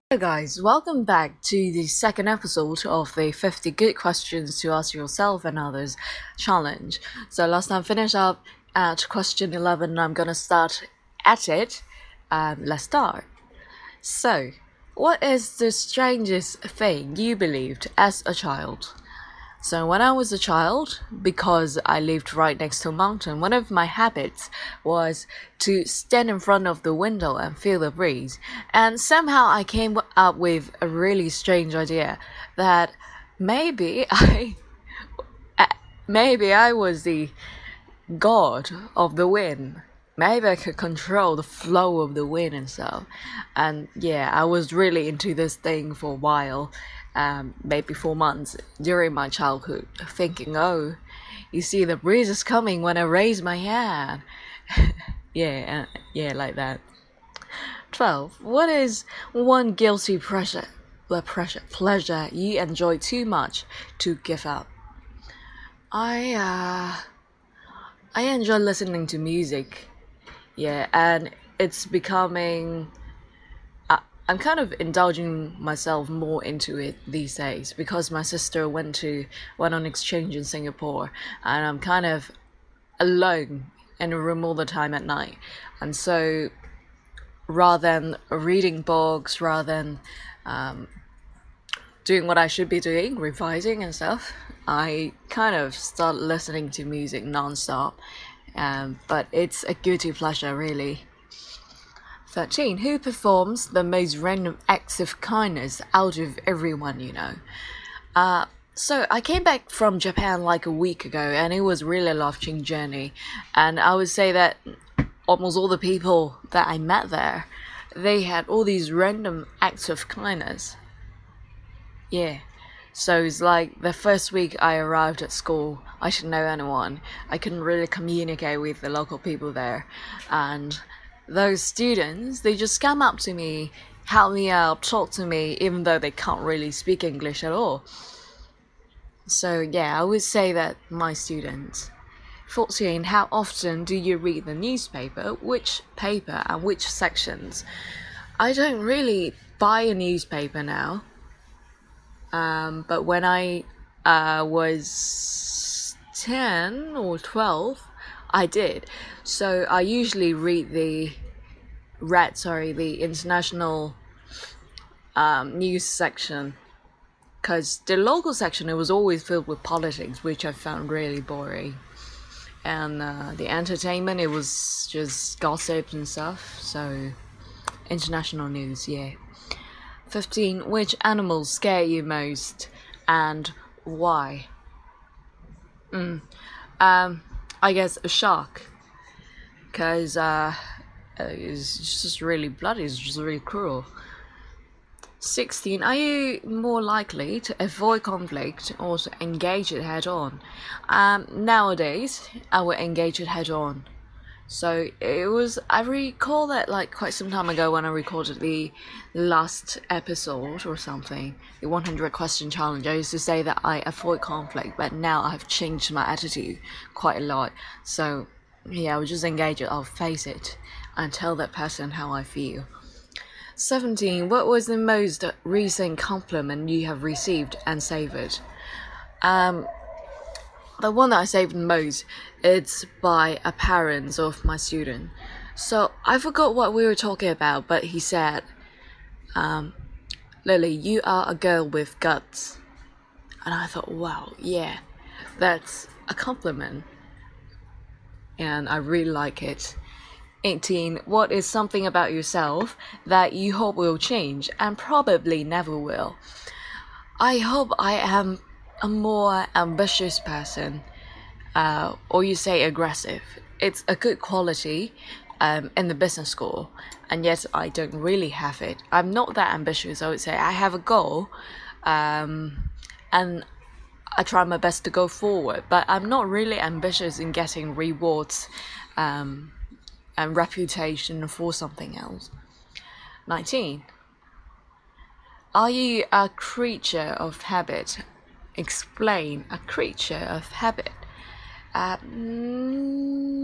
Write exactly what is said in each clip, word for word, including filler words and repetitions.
Hello, guys, welcome back to the second episode of the fifty Good Questions to Ask Yourself and Others challenge. So, last time finished up at question eleven, I'm gonna start at it. Um, let's start. So, what is the strangest thing you believed as a child? So when I was a child, because I lived right next to a mountain, one of my habits was to stand in front of the window and feel the breeze. And somehow I came up with a really strange idea that maybe I maybe I was the god of the wind. Maybe I could control the flow of the wind and stuff. And yeah, I was really into this thing for a while, um, maybe four months during my childhood, thinking, oh, you see, the breeze is coming when I raise my hand. yeah, uh, yeah, like that. twelve. What is one guilty pleasure, pleasure, pleasure you enjoy too much to give up? I, uh, I enjoy listening to music. Yeah, and it's becoming. I, I'm kind of indulging myself more into it these days because my sister went to went on exchange in Singapore, and I'm kind of alone in a room all the time at night, and so rather than reading books, rather than um, doing what I should be doing, revising and stuff, I kind of start listening to music non-stop. Um, but it's a guilty pleasure, really. thirteen. Who performs the most random acts of kindness out of everyone you know? Uh, so I came back from Japan like a week ago, and it was really a life-changing journey. And I would say that almost all the people that I met there, they had all these random acts of kindness. Yeah. So it's like the first week I arrived at school, I didn't know anyone. I couldn't really communicate with the local people there. And those students, they just come up to me, help me out, talk to me, even though they can't really speak English at all. So yeah, I would say that my students. fourteen. How often do you read the newspaper? Which paper and which sections? I don't really buy a newspaper now. Um, but when I uh, was ten or twelve, I did. So I usually read the read sorry the international um, news section, because the local section, it was always filled with politics, which I found really boring. And uh, the entertainment, it was just gossip and stuff. So international news, yeah. fifteen. Which animals scare you most and why? Mm. Um, I guess a shark, because uh, it's just really bloody, it's just really cruel. sixteen. Are you more likely to avoid conflict or to engage it head on? Um, nowadays, I would engage it head on. So it was, I recall that like quite some time ago when I recorded the last episode or something, the one hundred question challenge, I used to say that I avoid conflict, but now I've changed my attitude quite a lot. So yeah, I'll just engage it, I'll face it and tell that person how I feel. seventeen. What was the most recent compliment you have received and savored? Um, the one that I saved most, it's by a parent of my student. So I forgot what we were talking about, but he said, um, Lily, you are a girl with guts. And I thought, wow, yeah, that's a compliment. And I really like it. eighteen. What is something about yourself that you hope will change and probably never will? I hope I am a more ambitious person, uh, or you say aggressive. It's a good quality um, in the business school, and yet I don't really have it. I'm not that ambitious, I would say. I have a goal, um, and I try my best to go forward, but I'm not really ambitious in getting rewards um, and reputation for something else. nineteen. Are you a creature of habit? Explain. A creature of habit. Uh,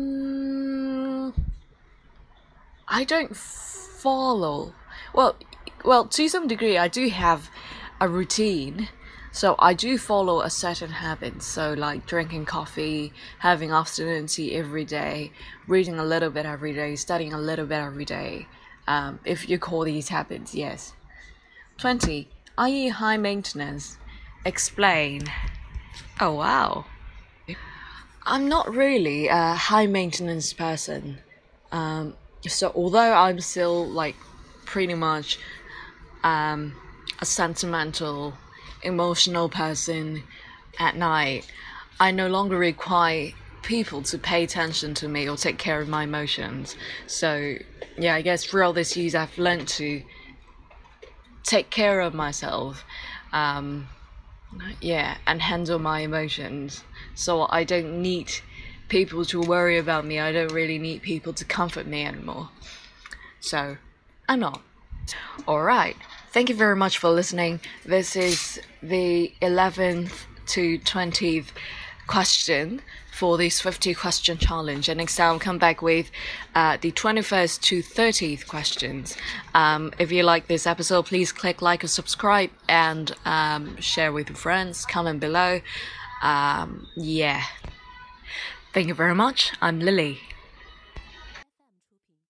mm, I don't follow. Well, well, to some degree, I do have a routine. So I do follow a certain habit. So like drinking coffee, having afternoon tea every day, reading a little bit every day, studying a little bit every day. Um, if you call these habits, yes. twenty. Are you high maintenance? Explain. Oh wow. I'm not really a high maintenance person. Um, so although I'm still like pretty much um, a sentimental, emotional person at night, I no longer require people to pay attention to me or take care of my emotions. So yeah, I guess throughout this years I've learned to take care of myself. Um, yeah, and handle my emotions. So I don't need people to worry about me. I don't really need people to comfort me anymore. So I'm not. Alright, thank you very much for listening. This is the eleventh to twentieth question for this fifty question challenge, and next time I'll come back with uh, the twenty-first to thirtieth questions. Um, if you like this episode, please click like and subscribe, and um, share with your friends, comment below. Um, yeah, thank you very much. I'm Lily.